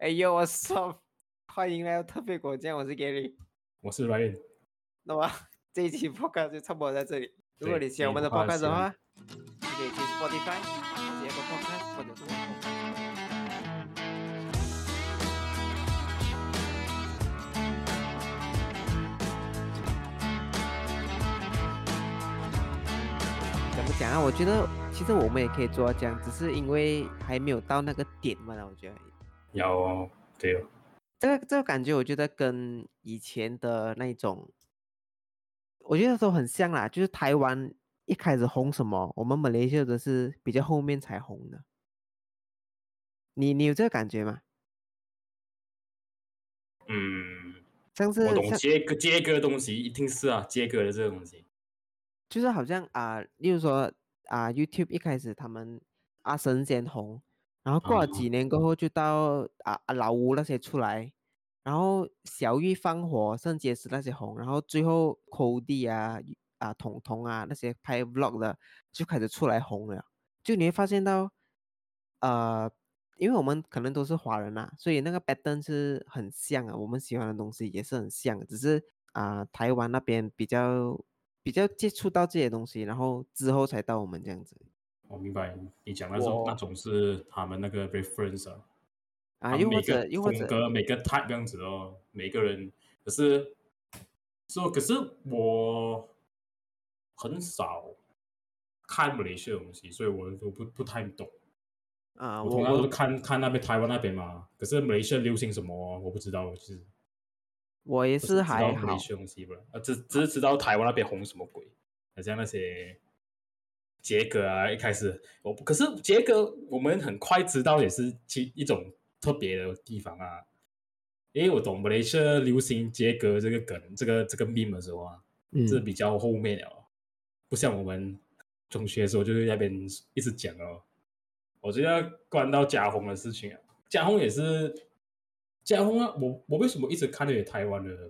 哎呦，我操！欢迎来到特别果酱，我是 Gary。 我是 Ryan。 那么这一期 podcast 就差不多在这里。如果你喜欢我们的 podcast 的话，你可以去 Spotify、或者 Apple Podcast 或者是网络。怎么讲啊？我觉得其实我们也可以做到这样，只是因为还没有到那个点嘛，我觉得。 有哦，对哦。 这个感觉，我觉得跟以前的那种，我觉得都很像啦。就是台湾一开始红什么，我们马来西亚的是比较后面才红的。你有这个感觉吗？像是我懂接歌的东西，一定是啊，接歌的这个东西， 就是好像例如说YouTube 一开始他们阿神先红，然后过了几年过后就到老吴那些出来，然后小玉放火、圣结石那些红，然后最后 Cody 彤彤那些拍 Vlog 的就开始出来红了。就你会发现到因为我们可能都是华人所以那个 pattern 是很像我们喜欢的东西也是很像，只是台湾那边比较接触到这些东西，然后之后才到我们这样子。 我明白你讲的那种是他们那个 reference 又或者风格每个 type 这样子哦，每个人可是我很少看马来西亚的东西，所以我都不太懂。我通常都是看那边台湾那边嘛，可是马来西亚流行什么我不知道，就是我也是还好， 知道马来西亚东西不？只是知道台湾那边红什么鬼，好像那些杰哥一开始可是杰哥我们很快知道也是一种特别的地方因为我懂马来西亚流行杰哥这个梗，这个 meme 的时候是比较后面了，不像我们中学的时候就是那边一直讲我觉得关到嘉宏的事情嘉宏也是嘉宏我为什么一直看那些台湾的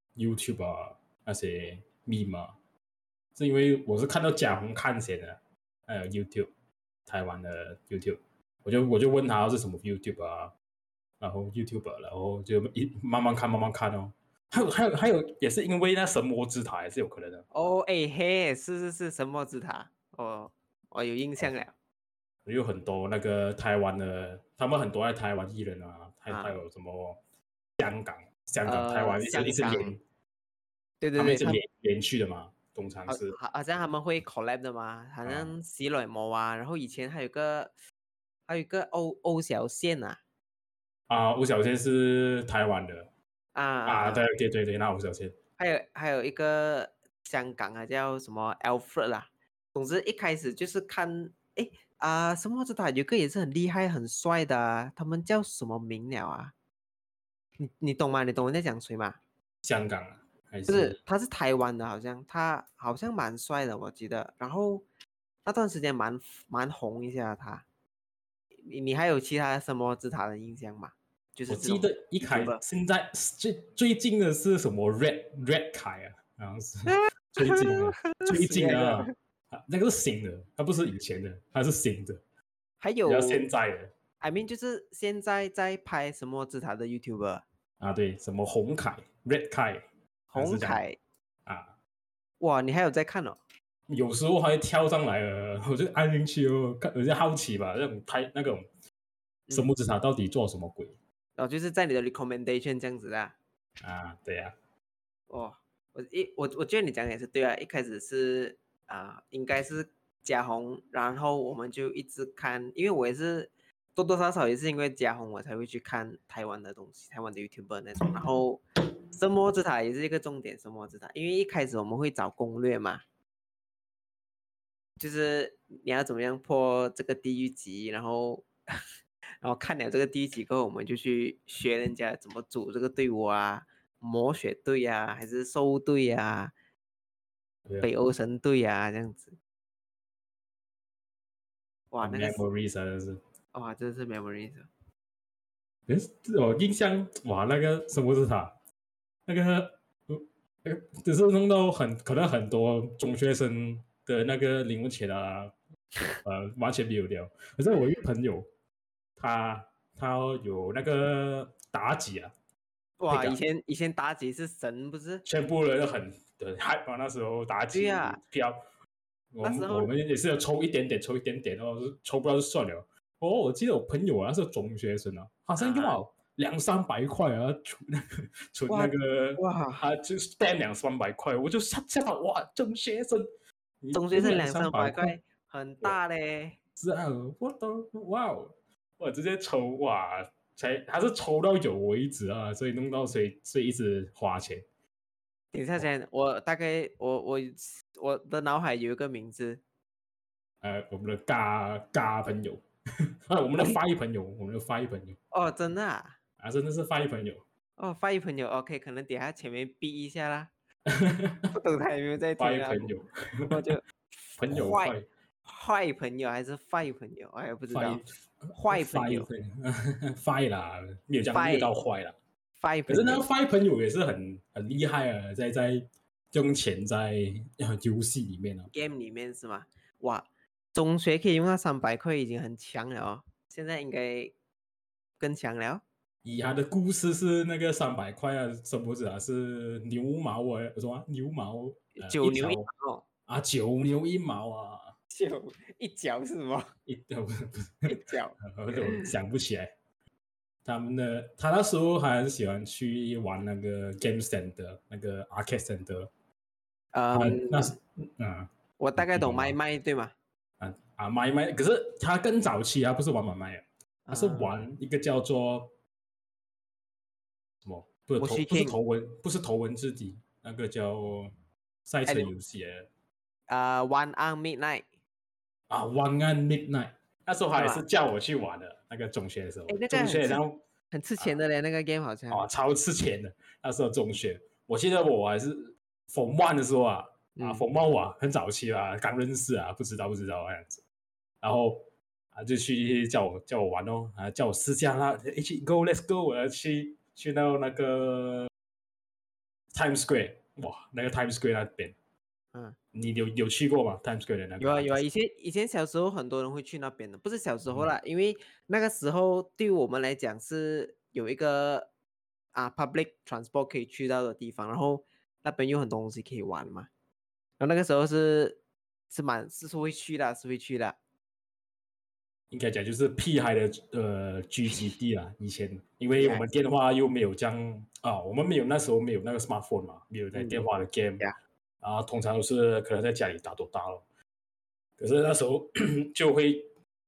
YouTube 那些 meme 是因为我是看到嘉宏看先的，还有 YouTube 台湾的 YouTube， 我就问他是什么 YouTube 然后 YouTube， 然后就慢慢看哦。还有也是因为那神魔之塔也是有可能的是神魔之塔我有印象了。 有很多那个台湾的，他们很多在台湾艺人还有什么香港、台湾一直连， 对， 他们一直连续的嘛，通常是好像他们会 collab 的嘛，好像喜来魔然后以前还有一个欧小倩吴小倩是台湾的对，那吴小倩还有一个香港叫什么 Alfred 啦。总之一开始就是看什么之塔有个也是很厉害很帅的他们叫什么名了你懂吗？你懂我在讲谁吗？ 香港还是？ 不是，他是台湾的，他好像蛮帅的，我记得。然后那段时间蛮红一下他。你还有其他什么之塔的印象吗？就是我记得现在最近的是什么 Red 凯好像是最近的那个是新的，它不是以前的，它是新的。 还有现在的 I mean 就是现在在拍什么之塔的 YouTuber 对，什么洪凯 Red 凯洪凯哇， 你还有在看有时候还跳上来了，我就按进去有些好奇吧，那种神魔之塔到底做什么鬼就是在你的 recommendation 这样子对呀我觉得你讲的也是对一开始是应该是嘉宏，然后我们就一直看，因为我也是多多少少也是因为嘉宏我才会去看台湾的东西，台湾的 YouTuber 那种。然后神魔之塔也是一个重点，神魔之塔因为一开始我们会找攻略嘛，就是你要怎么样破这个地狱级，然后看了这个地狱级过后，我们就去学人家怎么组这个队伍魔血队还是兽队北欧神队这样子。哇，那个 memories 真是真的是 memories。 我印象那个神魔之塔那个只是弄到可能很多中学生的那个零用钱完全没有掉。可是我一个朋友，他他有那个妲己啊， 哇，以前妲己是神不是？ 全部人都很hype 嘛，那时候妲己对呀、 票， 那时候我们也是要抽一点点，抽一点点哦，抽不到就算了。哦，我记得我朋友啊，那时候中学生啊，好像用了200-300块啊，存那个哇， 啊，就 spend 200-300块，我就吓到哇，中学生，你中学生两两三百三百块， 块很大嘞。 是啊，我都哇哦，我直接抽哇，还是抽到有为止啊，所以弄到所以一直花钱。 等一下先，我大概我的脑海有一个名字。 我们的嘎朋友，我们的发一朋友，我们的发一朋友哦，真的啊？ 啊，真的是发一朋友， 哦，发一朋友，OK，可能等下前面逼一下啦，不懂他有没有在发听啊？ 一朋友， 不过就朋友坏坏坏朋友还是坏朋友，我也不知发一道。坏朋发一友， 朋友，坏啦，没有没有到坏坏啦。 坏朋友。 可是那个发一朋友也是很厉害啊，在用钱在游戏里面啊。 game 里面是吗？哇，中学可以用到300块已经很强了哦，现在应该更强了。 以他的故事是那个300块啊，什么子啊？是牛毛啊，什么牛毛一九牛一条毛， 啊，9牛1毛啊， 就一脚是什么？ 不是不是， 一脚。 我想不起来。他那时候还很喜欢去玩那个 Game Center 那个 Arcade Center，那是我大概懂你懂吗？ 麦麦对吗？ 买，可是他更早期，他不是玩买啊，他是啊， 玩一个叫做什么？ 我去不是 King， 头文字 D，那个叫赛车游戏 One on Midnight ，One and Midnight。那时候他也是是吧？ 叫我去玩的，那个中学的时候， 哎，那个中学然后很吃钱的嘞，那个 game 好像。 超吃钱的。那时候中学，我记得我还是 Form One 的时候Form One 很早期刚认识不知道那样子，然后就去叫我玩哦，叫我试驾啦，一起 Let's go， 我要去到那个 Times Square， 哇，那个 Times Square 那边，你有去过吗？Times Square 的那个？ 有啊有啊，以前小时候很多人会去那边的，不是小时候啦，因为那个时候对我们来讲是有一个public transport 可以去到的地方，然后那边有很多东西可以玩嘛，然后那个时候是会去的，是会去的。 应该讲就是屁孩的聚集地啦。以前因为我们 Yes， 电话又没有这样我们那时候没有那个 smartphone 嘛，没有在电话的 game，通常都是可能在家里打咯。可是那时候就会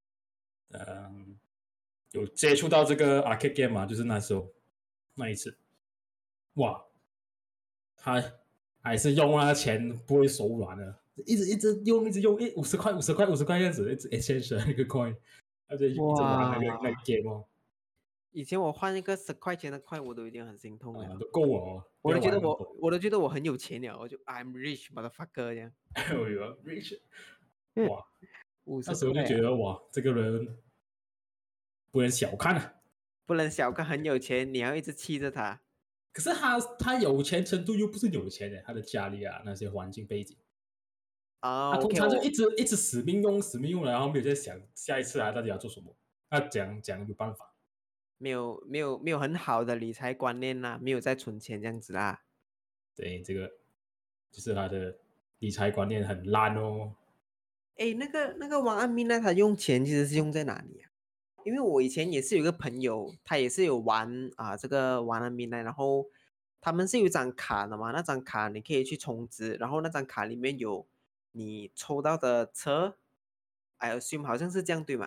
有接触到这个 arcade game 嘛，就是那时候那一次，哇，他还是用那钱不会手软的，一直用，50块这样子，一直 exchange 那个 coin，一直玩那个game 哦。 以前我换一个10块钱的块，我都已经很心痛了。 都够哦， 我都觉得我很有钱了，我就 I'm rich motherfucker 这样。 rich， 哇， 50 那时候就块觉得哇，这个人不能小看啊。 不能小看，很有钱，你要一直气着他。 可是他有钱程度又不是有钱的，他的家里那些环境背景，他通 OK， 常就一直死命用，然后没有在想下一次到底要做什么，他讲有办法。 没有很好的理财观念啦，没有在存钱这样子啦。 对，这个就是他的理财观念很烂哦。 哎，那个王安民呢？他用钱其实是用在哪里啊？因为我以前也是有一个朋友，他也是有玩这个王安民呢，然后他们是有一张卡的嘛，那张卡你可以去充值，然后那张卡里面有你抽到的车，I assume 好像是这样对吗？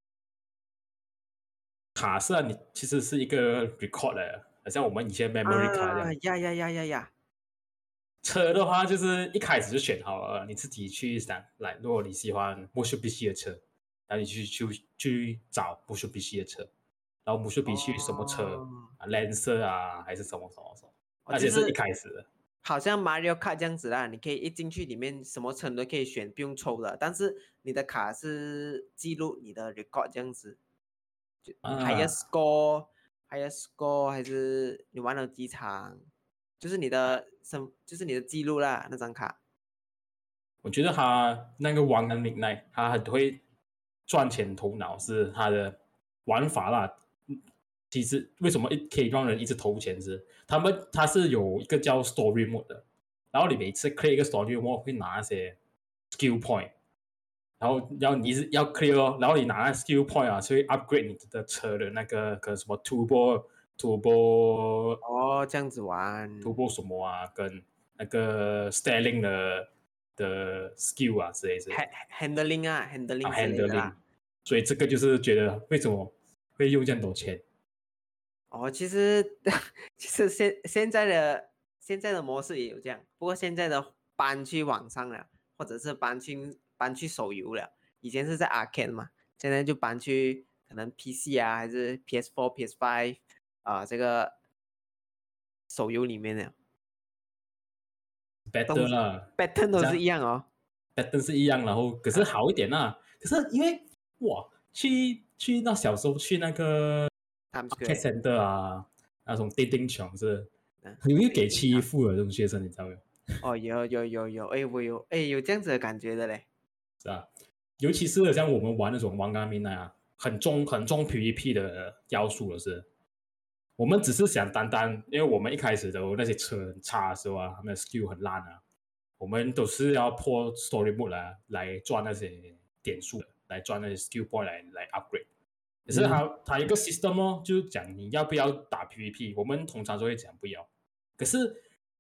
卡是你其实是一个 record 的，好像我们以前 memory 卡这样。 呀！ 车的话，就是一开始就选好了，你自己去想来。如果你喜欢 Mitsubishi 的车，然后你去找 Mitsubishi 的车，然后 Mitsubishi 什么车Lancer 还是什么，那些是一开始的。 好像 Mario Kart 这样子啦，你可以一进去里面什么车都可以选，不用抽的。但是你的卡是记录你的 record 这样子，就higher score 还是你玩了几场，就是你的记录啦那张卡。 我觉得他那个 One and Midnight，他很会赚钱头脑，是他的玩法啦。 其实为什么可以让人一直投钱是，它是有一个叫 Story Mode 的，然后你每次 clear 一个 Story Mode 会拿那些 skill point，然后你是要 clear 哦，然后你拿那 skill point 啊，去 upgrade 你的车的那个什么 turbo 哦，这样子玩什么啊，跟那个 styling 的 skill 啊之类的 handling 之类的 handling， 啦。 所以这个就是觉得为什么会用这样多钱。 哦，其实其实现在的模式也有这样，不过现在的搬去网上了，或者是搬去手游了。以前是在 arcade 嘛，现在就搬去可能 PC 啊，还是 PS4、PS5 这个手游里面了。 better 啦， pattern 都是一样哦。 better 是一样，然后可是好一点啦。可是因为哇，那小时候去那个 Times arcade Square， center 啊，那种电竞场是嗯， 很容易给欺负的这种学生，你知道没有？ 哦，有，哎，我有这样子的感觉的嘞。 是啊，尤其是像我们玩那种王刚明啊，很重 PVP 的要素的是，我们只是想单单，因为我们一开始的那些车很差的时候啊，他们的 skill 很烂啊，我们都是要破 story mode 来赚那些点数的，来赚那些 skill point 来 upgrade。可是它有一个 system 哦，就是讲你要不要打 PVP，我们通常都会讲不要。可是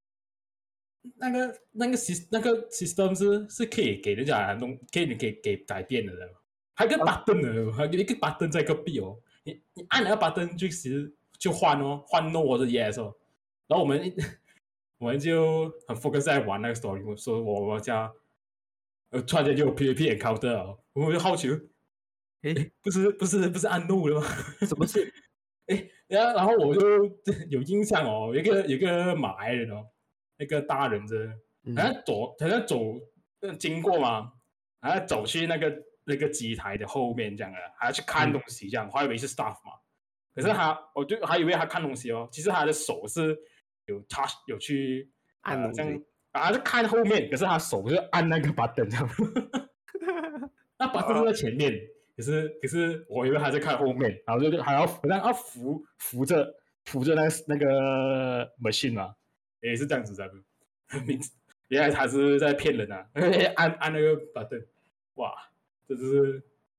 那个 system 是可以给人家可以给改变的，还有一个 button 的，还有一个 button 在隔壁哦，你按那个 button 就换哦，换 no 或者 yes 哦，然后我们就很 focus 在玩那个 story， 说我家突然间就有 PVP encounter 哦，我就好奇， 诶， 不是按 no 了吗？ 什么事？ 然后我就有印象哦，有一个马来人哦，那个大人真的，好像走经过嘛，好像走去那个机台的后面这样的，还要去看东西这样，我还以为是 staff 嘛，可是我就还以为他看东西哦，其实他的手是有去这样按东西。 啊，就看后面，可是他手就按那个 button 这样，那 button 是在前面。可是我以为他在看后面，然后就还要好像要扶着那个 machine 嘛，也是这样子的。原来他是在骗人啊！按那个 button， 哇，这就是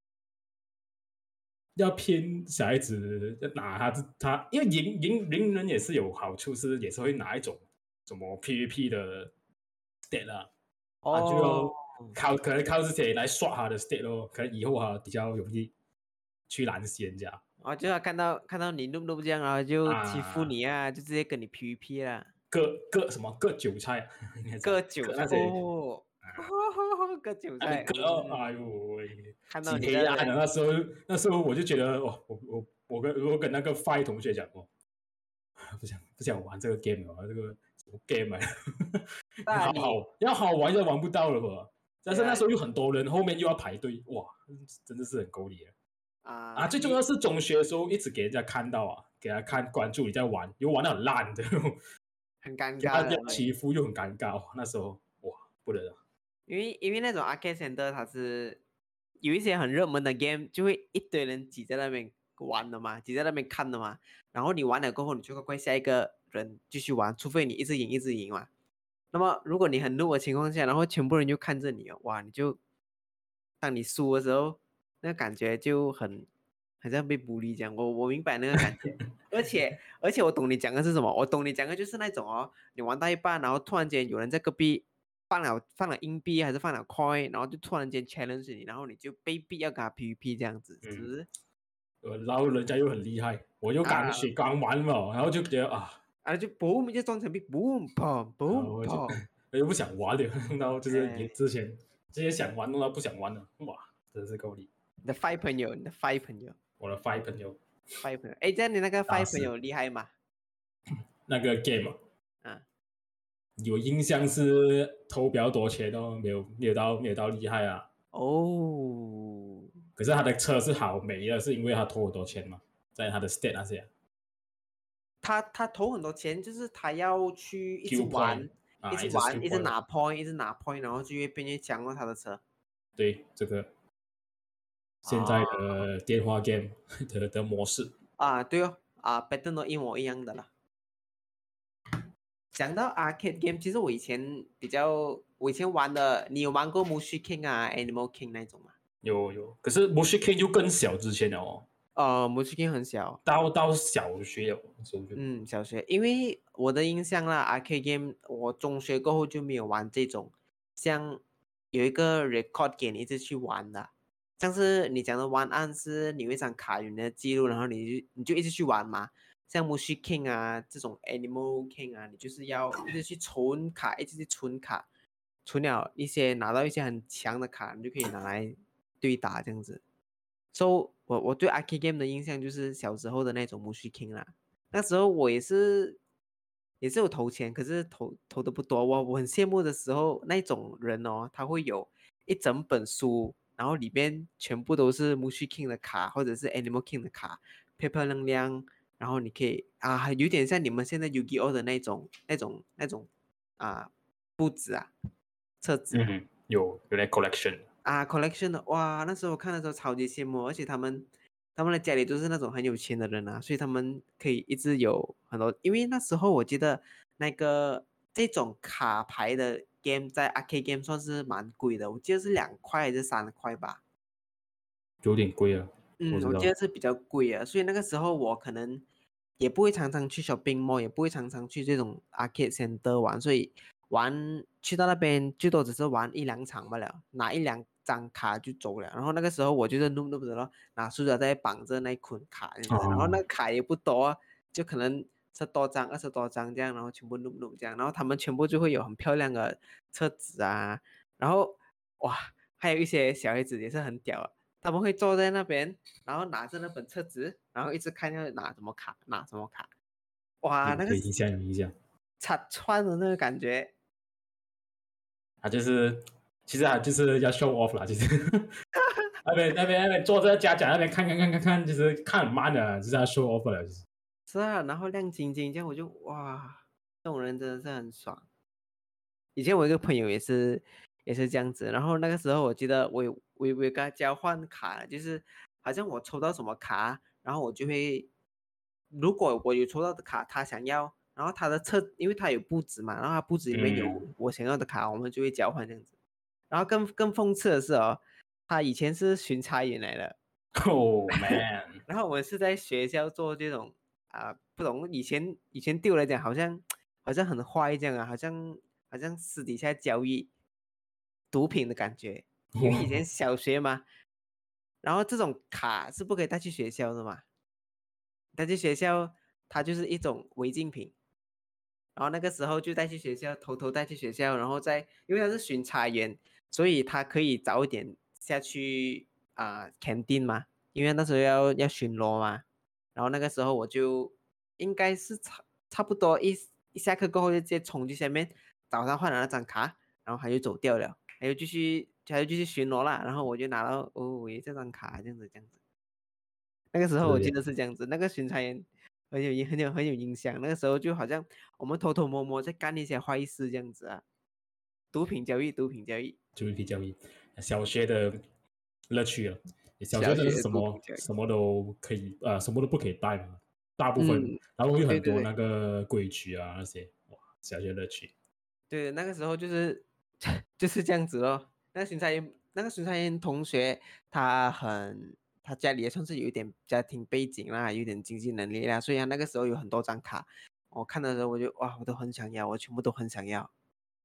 要骗小孩子拿他，因为赢人也是有好处，是也是会拿一种什么 PVP 的 state 啊，他就要可能靠这些来刷他的 state 咯，可能以后比较容易去拦死人家。 就要看到你弄这样，然后就欺负你啊，就直接跟你 PVP 啦。 割韭菜啊， 割韭菜那些哦，割韭菜。 哎呦喂， 看到挺你的人， 黑暗的。那时候我就觉得，哦，我跟那个 Five 同学讲过，不想玩这个 game 了，这个什么 game 啊，要好玩就玩不到了吧？但是那时候有很多人，后面又要排队，哇，真的是很够力最重要是中学的时候一直给人家看到啊，给他看关注你在玩，又玩得很烂的， 很尴给他尬的。 欺负又很尴尬，那时候哇不得了。 因为那种 arcade center 它是有一些很热门的 game，就会一堆人挤在那边玩的嘛，挤在那边看的嘛。然后你玩了过后，你就快下一个人继续玩，除非你一直赢嘛。那么如果你很弱的情况下，然后全部人就看着你哦，哇，当你输的时候，那个感觉就很像被bully这样。我明白那个感觉，而且我懂你讲的是什么，我懂你讲的就是那种哦，你玩到一半，然后突然间有人在隔壁放了硬币还是放了 coin，然后就突然间 challenge 你，然后你就被逼要跟他 PVP 这样子，是不是？ 然后人家又很厉害，我又刚玩嘛，然后就觉得就 boom 就装成币 boom boom boom 我 boom， 又不想玩了，然后就是之前想玩，弄到不想玩了，哇，真是够力。 你的 five 朋友， 我的 Five 朋友 ，five 朋友，哎，这样你那个 five 朋友厉害吗？ 那个 game 啊， 有印象是投比较多钱哦，没有到厉害啊。 哦， 可是他的车是好没的，是因为他投很多钱嘛，在他的 state 那些他投很多钱，就是他要去一直 Q 玩， point 一直一直玩， Q 一直 point， 拿 point，一直拿 point，然后就越变越强了他的车。 对这个现在的电话 game 的模式。 对哦， pattern 都一模一样的了。讲到 arcade game，其实我以前玩的，你有玩过 Mushy King 啊、Animal King 那种吗？ 有，可是 Mushy King 就更小之前了哦， Mushy King 很小， 到小学了，是不是？ 小学，因为我的印象啦，arcade game，我中学过后就没有玩这种，像有一个 record 给你一直去玩的，像是你讲的玩案是你有一张卡有你的记录，然后你就一直去玩嘛。像 Mushy King 啊这种 Animal King 啊，你就是要一直去存卡，一直去存卡，存了拿到一些很强的卡，你就可以拿来对打这样子。So 我对 arcade game 的印象就是小时候的那种 Mushy King 啦。那时候我也是有投钱，可是投的不多。我很羡慕的时候，那种人哦，他会有一整本书，然后里边全部都是 Mushy King 的卡，或者是 Animal King 的卡，漂漂亮亮。然后你可以有点像你们现在 Yu-Gi-Oh 的那种布置册子有那 collection。 collection 的哇，那时候我看的时候超级羡慕，而且他们的家里都是那种很有钱的人所以他们可以一直有很多，因为那时候我记得这种卡牌的 game 在 arcade game 算是蛮贵的，我记得是2块还是3块吧。 有点贵啊，我知我记道。 得是比较贵啊，所以那个时候我可能也不会常常去 shopping mall，也不会常常去这种 arcade center 玩，所以去到那边最多只是玩1-2场罢了，拿1-2张卡就走了。然后那个时候我就是 noob 的咯，拿塑料袋绑着那捆卡这样子，然后那个卡也不多，就可能10多张、20多张这样，然后全部 noob 这样，然后他们全部就会有很漂亮的册子然后哇，还有一些小孩子也是很屌他们会坐在那边，然后拿着那本册子，然后一直看要拿什么卡，拿什么卡。哇，那个有印象有印象。 插串的那个感觉， 他就是其实他就是要 show off 啦，其实那边坐在家长那边看，就是看很慢的，就是要 show off 了，就是。 是啊，然后亮晶晶这样，我就哇，这种人真的是很爽。以前我一个朋友也是这样子，然后那个时候我记得我有跟他交换卡，就是好像我抽到什么卡，然后我就会，如果我有抽到的卡他想要，然后他的因为他有布置嘛，然后他布置里面有我想要的卡，我们就会交换这样子。然后更讽刺的是他以前是巡查员来的， Oh man， 然后我们是在学校做这种不懂以前对我来讲好像很坏这样好像私底下交易毒品的感觉，因为以前小学嘛，然后这种卡是不可以带去学校的嘛，带去学校它就是一种违禁品，然后那个时候就带去学校，偷偷带去学校，然后因为他是巡查员，所以他可以早一点下去canteen 嘛，因为那时候要巡逻嘛。然后那个时候我就应该是差不多一下课过后就直接冲去下面找他换了那张卡，然后他就走掉了，他就继续巡逻啦。然后我就拿到这张卡这样子。那个时候我记是得是这样子，那个巡查员很有影响。那个时候就好像我们偷偷摸摸在干一些坏事这样子毒品交易，毒品交易， 就是比较小学的乐趣了。小学真的是小学什毒品交易。 么什么都可以什么都不可以带嘛，大部分， 嗯， 然后有很多那对对对个规矩那些，哇，小学乐趣。 对，那个时候就是就是这样子咯。那个巡查员同学，他家里也算是有一点家庭背景啦，有点经济能力啦，所以他那个时候有很多张卡。我看的时候我就哇，我都很想要，我全部都很想要。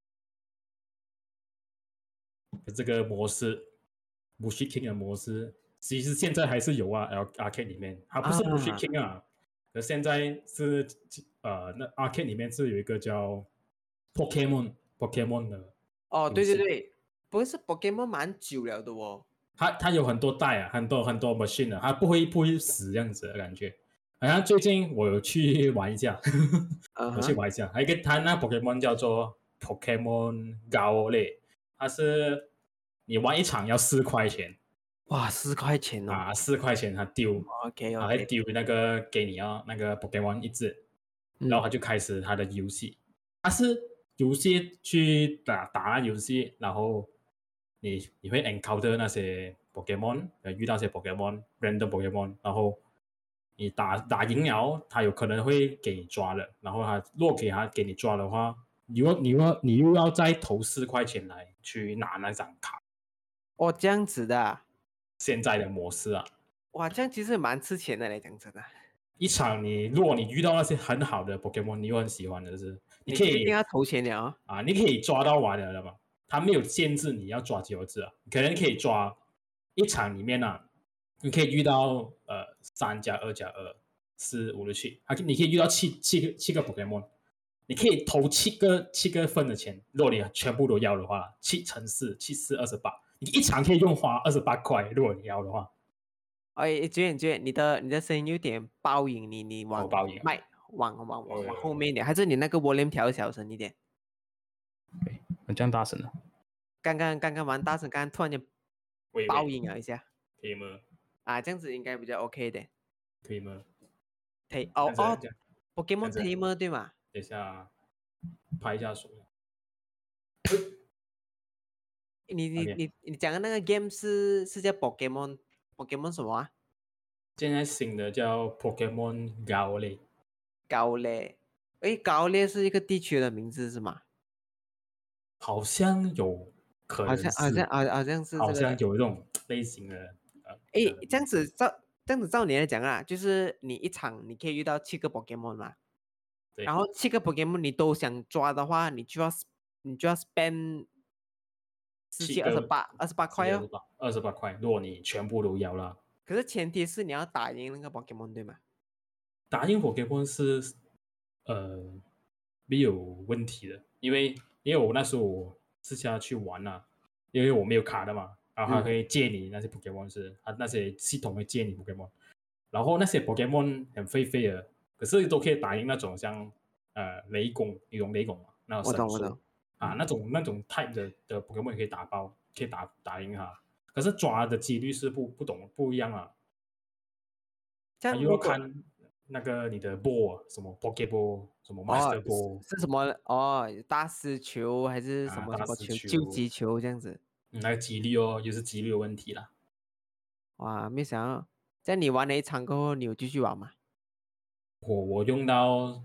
这个模式 Mushy King 的模式，其实现在还是有Arcade 里面，它不是 Mushy 啊 King 而现在是那 Arcade 里面是有一个叫 Pokemon 的哦，对对游戏。 对，不是 Pokemon 蛮久了的哦。 它有很多代很多很多 machine 的，它不会死这样子的感觉。好像最近我有去玩一下，我去嗯哼， 玩一下，还有一个它那 Pokemon 叫做 Pokemon Go 类，它是你玩一场要4块钱哇，4块钱哦。 4块钱它丢， OK 它会 OK， 丢那个给你那个 Pokemon 一只，然后嗯， 它就开始它的游戏。它是游戏去打游戏，然后你会 encounter 那些 Pokemon，遇到些 Pokemon，random Pokemon，然后你打赢了，他有可能会给你抓了，然后他若给你抓的话，你又要再投4块钱来去拿那张卡。 哦，这样子的啊， 现在的模式啊， 哇，这样其实蛮吃钱的嘞，讲真的。 一场如果你遇到那些很好的 Pokemon，你又很喜欢的是，你可以你就一定要投钱了哦。 啊，你可以抓到完了嘛，他没有限制你要抓几个字啊，可能可以抓一场里面啊，你可以遇到3+2+2，4、5、6、7，你可以遇到七个 Pokemon，你可以投七个份的钱，如果你全部都要的话，7乘4，7×4，28，你一场可以花28块，如果你要的话。 哎，娟，你的声音有点爆音，你往爆音啊！ 麦往后面一点，还是你那个 volume 调小声一点？ 这样大声了， 刚刚蛮大声，刚刚突然间爆音了一下。 可以吗？ 啊，这样子应该比较 OK 的。 可以吗？ Pokemon Tamer 对吗？ 等一下拍一下手。 你讲的那个 game 是叫 Pokemon 什么啊？ 现在新的叫 Pokemon Go 嘞， 高烈，诶，高烈是一个地区的名字是吗？ 好像有可能是， 好像是这好像个。 有这种类型的诶，这样子照你来讲啊，就是你一场你可以遇到7个 Pokemon 嘛， 对， 然后7个 Pokemon 你都想抓的话，你就要 spend 17、28块哦。 28块，如果你全部都要了， 可是前提是你要打赢那个 Pokemon 对吗？ 打赢 Pokemon 是没有问题的，因为我那时候我私下去玩啊，因为我没有卡的嘛，然后他会借你那些 Pokemon 他那些系统会借你 Pokemon，然后那些 Pokemon 很废的，可是都可以打赢那种像雷公，你懂雷公吗？那种神兽我懂。 啊，那种 type 的 Pokemon 也可以打爆，可以打赢它，可是抓的几率是不一样啊，他又要这样如果看那个你的 ball 什么 Pokeball 什么哦 Master 是 Ball 是什么哦，大师球还是什啊，大师么什么球，救球， 急球这样子？ 那个几率哦，又是几率的问题啦。 哇，没想到，在你玩了一场过后，你有继续玩吗？ 我用到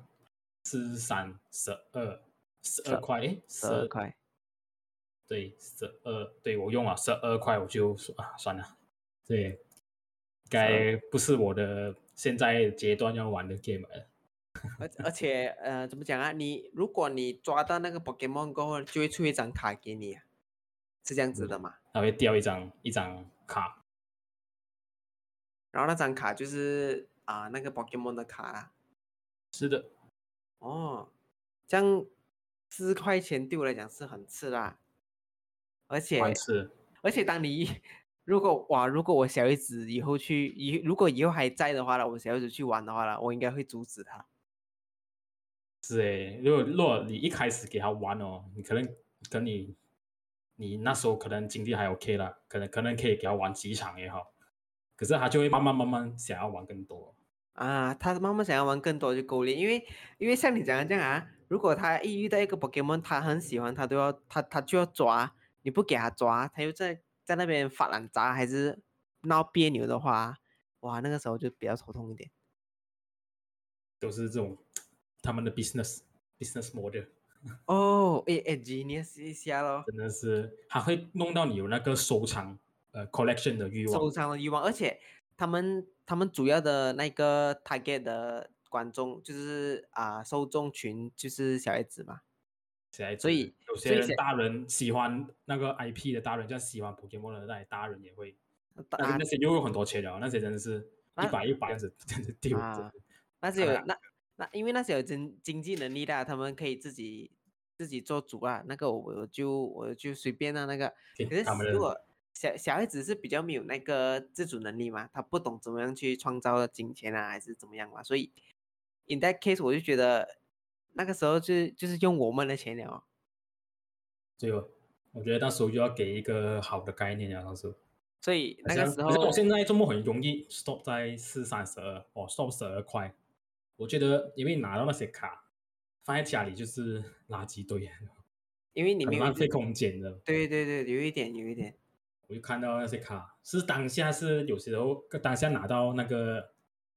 12块，诶， 12块。 对，对我用了12块，我就说啊，算了，对，该不是我的现在阶段要玩的 game 了。 而且怎么讲啊？如果你抓到那个 Pokemon 过后，就会出一张卡给你啊，是这样子的嘛？ 它会掉一张卡， 然后那张卡就是那个 Pokemon 的卡啦。 是的， 哦，这样4块钱对我来讲是很吃啦，而且关是而且当你如果我小孩子如果以后还在的话了，我小孩子去玩的话了，我应该会阻止他。 是诶，如果你一开始给他玩哦，你可能跟你那时候可能经济还 OK 啦，可能可以给他玩几场也好，可是他就会慢慢想要玩更多。 他慢慢想要玩更多就够了，因为像你讲的这样啊，如果他一遇到一个 Pokemon，他很喜欢，他就要抓，你不给他抓，他又在那边发烂渣还是闹别扭的话，哇，那个时候就比较头痛一点。 都是这种他们的 business model， 哦，genius 一下咯。 真的是他会弄到你有那个收藏collection 的欲受望。 伤的欲望，而且他们主要的那个 target 的观众就是受众群就是小孩子嘛， 小孩子所以有些所以小人大人喜欢那个 IP 的大人，像喜欢 Pokemon 的那些大人也会， 啊那些又有很多钱了，那些真的是一那百一百这样子这样子丢，真啊的那些看了有因为那些有经济能力的啊，他们可以自己做主啊，那个我就随便那个，可他们的是如果小孩子是比较没有那个自主能力嘛，他不懂怎么样去创造金钱啊，还是怎么样嘛，所以 in that case 我就觉得那个时候就是用我们的钱了哦。 就我觉得那时候就要给一个好的概念啊，当时所以那个好像时候好像我现在周末很容易 stop 在4、32哦，stop 12块，我觉得因为拿到那些卡放在家里就是垃圾堆， 因为你没有一直很浪费空间的。 对，有一点。 我就看到那些卡，是当下是有时候当下拿到那个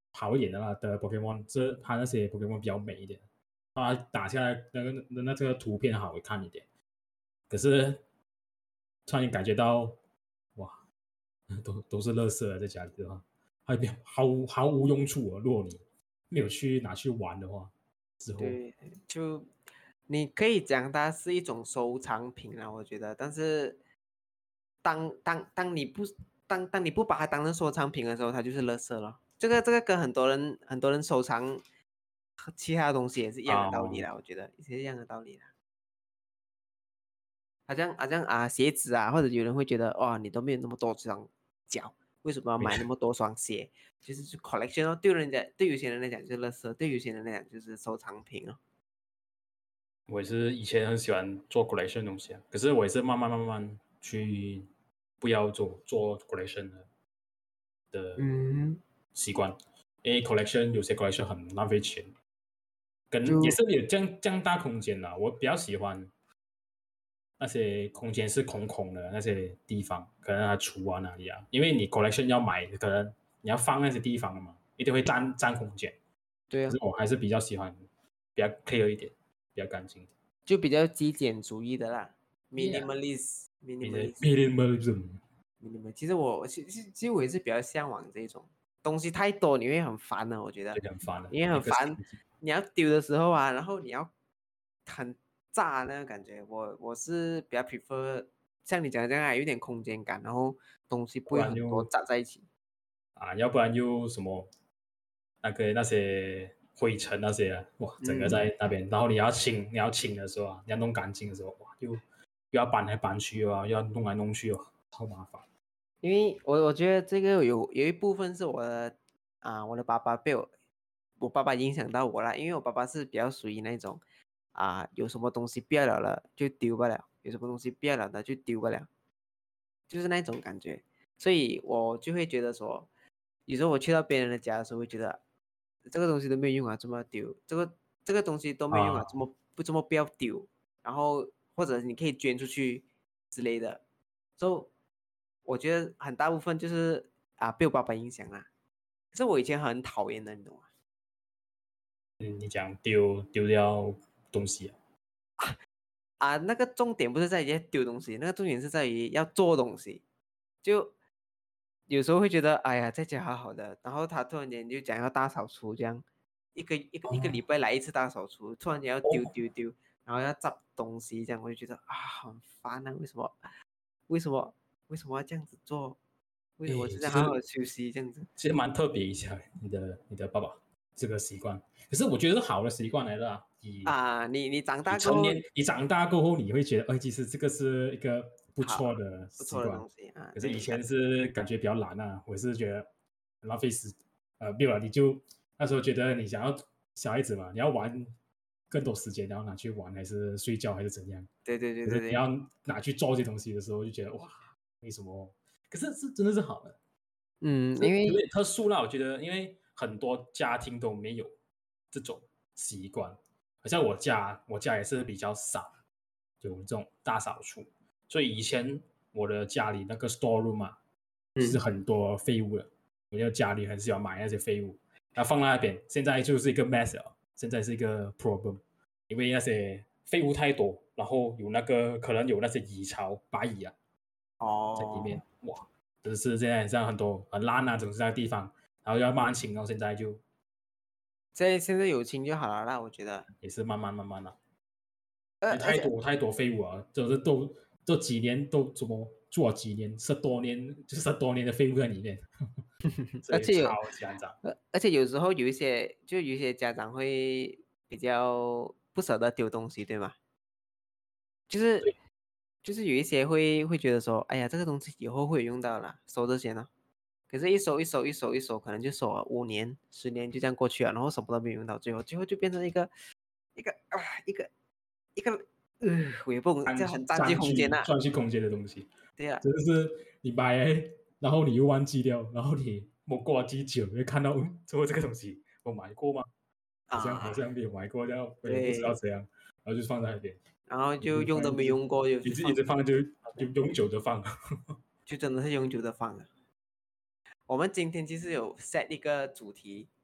好一点的Pokemon，它那些 Pokemon 比较美一点，它打下来那个图片好看一点。可是突然感觉到，哇，都是垃圾在家里的话，毫无用处啊。如果你没有拿去玩的话，之后对，就你可以讲它是一种收藏品啊，我觉得。但是当你不把它当成收藏品的时候，它就是垃圾了。这个跟很多人收藏其他东西也是一样的道理啦，我觉得也是一样的道理啦。好像鞋子啊，或者有人会觉得哇，你都没有那么多双脚，为什么要买那么多双鞋？就collection 哦，对有些人来讲就是垃圾，对有些人来讲就是收藏品哦。 我也是以前很喜欢做 collection 的东西啊，可是我也是慢慢去不要做 collection 的嗯， 习惯，因为 collection 有些 collection 很浪费钱，也就是有这样大空间啦。我比较喜欢那些空间是空空的那些地方，可能它橱啊哪里啊，因为你 collection 要买，可能你要放那些地方嘛，一定会占空间。 对啊， 可是我还是比较喜欢比较 clear 一点，比较干净一点。 就比较极简主义的啦 Yeah， ，minimalist。 minimalism。 其实我也是比较向往这种东西太多，你会很烦的，我觉得就很烦了， 你会每很烦， 个星期你要丢的时候啊，然后你要很炸那个感觉，我是比较 prefer 像你讲的这样啊，有点空间感，然后东西不不会很多然又杂在一起。 要不然又什么那些灰尘那些啊，哇，整个嗯， 在那边，然后你要清的时候啊，你要弄干净的时候，哇，又要搬来搬去啊，要弄来弄去哦，超麻烦。 因为我觉得这个有一部分是我的爸爸我爸爸影响到我啦，因为我爸爸是比较属于那种有什么东西不要了就丢不了，有什么东西不要了的就丢不了，就是那种感觉，所以我就会觉得说，有时候我去到别人的家的时候，会觉得这个东西都没有用啊，怎么丢？这个东西都没有用啊， 啊， 怎么不要丢？然后或者你可以捐出去之类的，所以我觉得很大部分就是被我爸爸影响啦。可是我以前很讨厌的，你懂吗？ 你讲丢掉东西啊， 那个重点不是在于丢东西，那个重点是在于要做东西。就有时候会觉得，哎呀，在家好好的，然后他突然间就讲要大扫除，这样一个礼拜来一次大扫除，突然间要丢哦， 丢丢，然后要zap东西，这样我就觉得很烦啊！为什么？为什么？为什么要这样子做？为什么就诶， 在好好的休息这样子？ 其实蛮特别一下，你的爸爸这个习惯，可是我觉得是好的习惯来的啊。 你长大过后， 你长大过后，你会觉得，其实这个是一个不错好的不错的习惯。 东西啊， 可是以对， 前是感觉比较懒啊，我是觉得很浪费没有了，你就那时候觉得你想要小孩子嘛，你要玩更多时间，然后拿去玩，还是睡觉，还是怎样？ 对对对对对， 可是你要拿去做这些东西的时候，就觉得哇，为什么？可是真的是好的。 因为有点特殊啦，我觉得，因为很多家庭都没有这种习惯，好像我家也是比较少有这种大扫除，所以以前我的家里那个 store room 啊，是嗯很多废物的，我就家里很喜欢买那些废物，然后放在那边，现在就是一个 mess 了，现在是一个 problem，因为那些废物太多，然后可能有那些蚁巢、白蚁啊在里面， 哦， 哇！就是现在像很多很烂啊，总是在地方，然后要慢慢清，然后现在就现在有情就好了啦，我觉得。 也是慢慢了，因为而且太多废物啊，就是都几年都怎么做了几年，十多年的废物在里面，所以超而且有， 级脏。 而且有时候有一些家长会比较不舍得丢东西，对吗？就是对， 就是有一些会觉得说，哎呀，这个东西以后会有用到啦，收着先了。可是，一收，可能就收了5年、10年，就这样过去了，然后什么都没有用到，最后就变成一个啊一个一个我也不懂，这很占据空间呐、 占据空间的东西， 对呀、 真的是你买来，然后你又忘记掉，然后你过了几久，你会看到，最后这个东西我买过吗？好像没有买过，这样我也不知道对， 怎样，然后就放在那边， 然后就用都一直没用过，就一就放直一直放，就那边， 永久的放。 就真的是永久的放了。我们今天其实有 set 一个主题，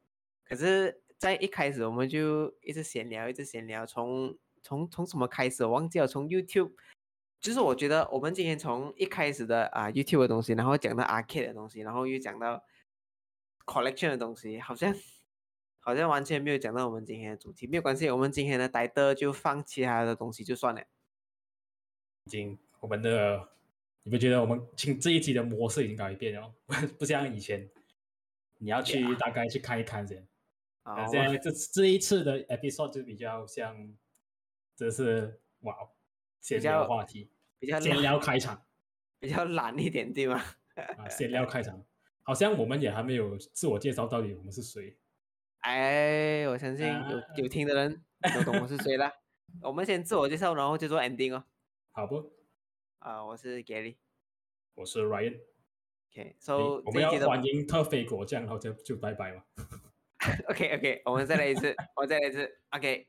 可是，在一开始我们就一直闲聊，一直闲聊，从什么开始我忘记了，从 YouTube，就是我觉得我们今天从一开始的YouTube 的东西，然后讲到 Arcade 的东西，然后又讲到 Collection 的东西，好像完全没有讲到我们今天的主题。没有关系，我们今天的title就放其他的东西就算了。 已经我们的，你不觉得我们这一集的模式已经改变了？不像以前，你要去大概去看一看先。 好， 现在这一次的 episode 就比较像，这是哇，闲聊话题， 比较闲聊开场， 比较懒一点，对吗？ 闲聊开场，好像我们也还没有自我介绍，到底我们是谁？ 哎，我相信有听的人都懂我是谁了。我们先自我介绍，然后就做 ending 哦。 好不？ 我是 Gary。 我是 Ryan。 OK，so 我们要这一集的欢迎特菲果酱，然后就拜拜嘛。 OK，我们再来一次，OK。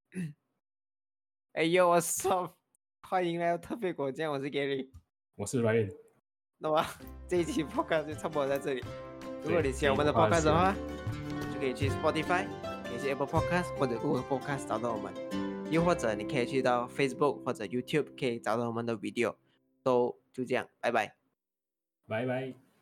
哎呦，我操！欢迎来到特别果酱，我是 Gary。 我是 Ryan。 那么这一期 podcast 就差不多在这里。如果你喜欢我们的 podcast 的话，就可以去 Spotify， 可以去 Apple Podcast 或者 Google Podcast 找到我们，又或者你可以去到 Facebook 或者 YouTube 可以找到我们的 video。就这样，拜拜。 拜拜。